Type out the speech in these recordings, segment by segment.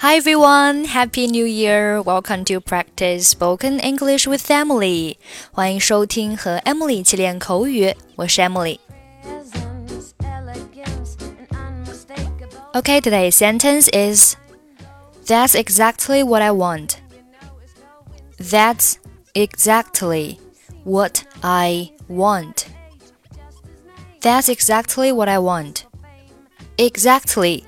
Hi everyone, Happy New Year! Welcome to practice spoken English with Emily. 欢迎收听和 Emily 一起练口语，我是 Emily. Okay, today's sentence is That's exactly what I want. That's exactly what I want. That's exactly what I want. Exactly.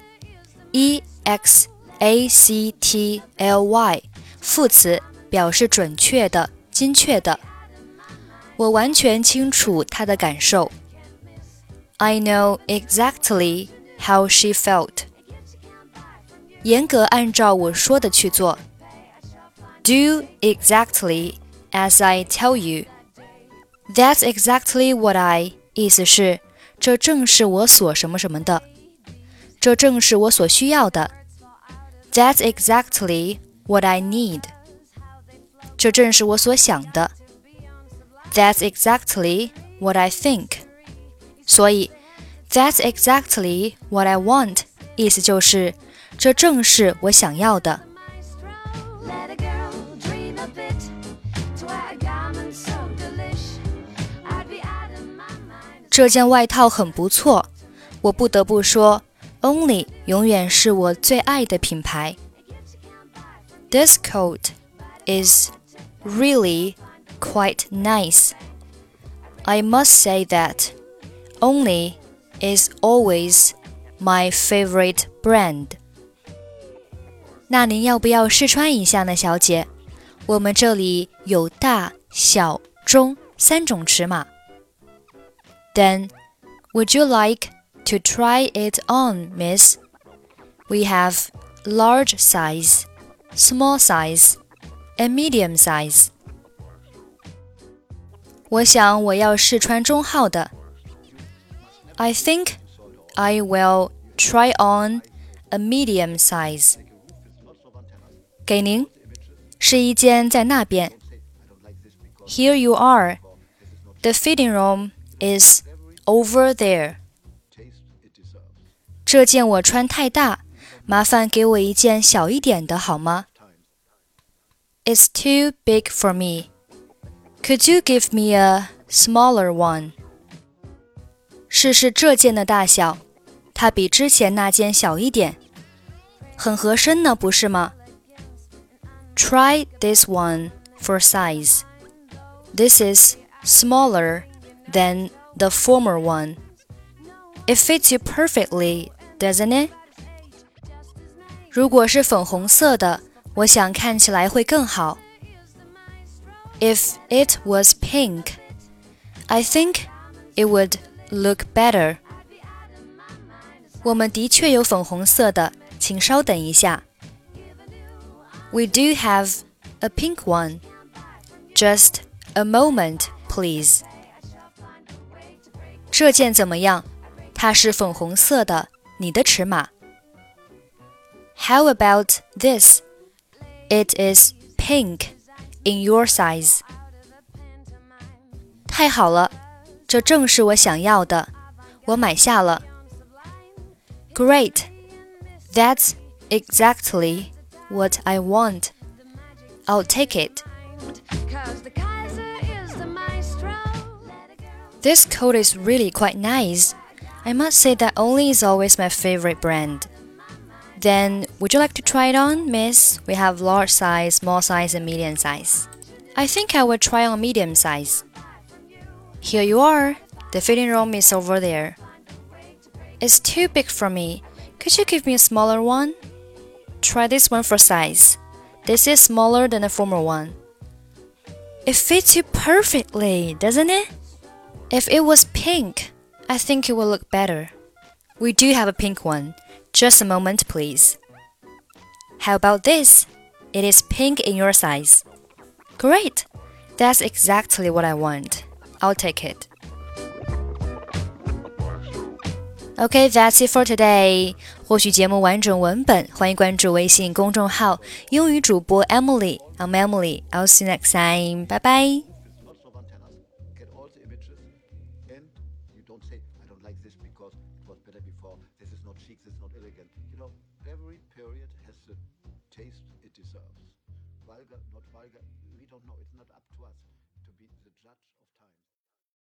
E-X-A-C-T-L-Y 副词表示准确的、精确的。我完全清楚她的感受。I know exactly how she felt. 严格按照我说的去做。Do exactly as I tell you. That's exactly what I 意思是这正是我所什么什么的。这正是我所需要的。That's exactly what I need. 这正是我所想的。That's exactly what I think. 所以 That's exactly what I want 意思就是这正是我想要的。这件外套很不错，我不得不说Only 永远是我最爱的品牌。This coat is really quite nice. I must say that Only is always my favorite brand. 那您要不要试穿一下呢，小姐？我们这里有大、小、中3种尺码。Then, would you like to try it on, miss? We have large size, small size, and medium size. 我想我要试穿中号的。I think I will try on a medium size. 给您，试衣间在那边。Here you are. The fitting room is over there. 这件我穿太大，麻烦给我一件小一点的好吗？ It's too big for me. Could you give me a smaller one? 试试这件的大小，它比之前那件小一点，很合身呢，不是吗？ Try this one for size. This is smaller than the former one. It fits you perfectly, doesn't it? 如果是粉红色的，我想看起来会更好。If it was pink, I think it would look better. 我们的确有粉红色的，请稍等一下。We do have a pink one. Just a moment, please. 这件怎么样？它是粉红色的，你的尺码。How about this? It is pink in your size. 太好了，这正是我想要的，我买下了。Great. That's exactly what I want. I'll take it. This coat is really quite nice. I must say that Only is always my favorite brand. Then, would you like to try it on, miss? We have large size, small size, and medium size. I think I will try on medium size. Here you are. The fitting room is over there. It's too big for me. Could you give me a smaller one? Try this one for size. This is smaller than the former one. It fits you perfectly, doesn't it? If it was pink, I think it will look better. We do have a pink one. Just a moment, please. How about this? It is pink in your size. Great. That's exactly what I want. I'll take it. Okay, that's it for today. 获取节目完整文本，欢迎关注微信公众号英语主播 Emily. I'm Emily. I'll see you next time. Bye bye. I don't like this because it was better before. This is not chic, this is not elegant. Every period has the taste it deserves. Vulgar, not vulgar, we don't know. It's not up to us to be the judge of taste.